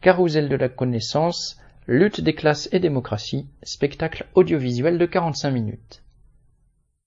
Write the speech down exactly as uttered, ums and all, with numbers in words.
Carrousel de la connaissance, lutte des classes et démocratie, spectacle audiovisuel de quarante-cinq minutes.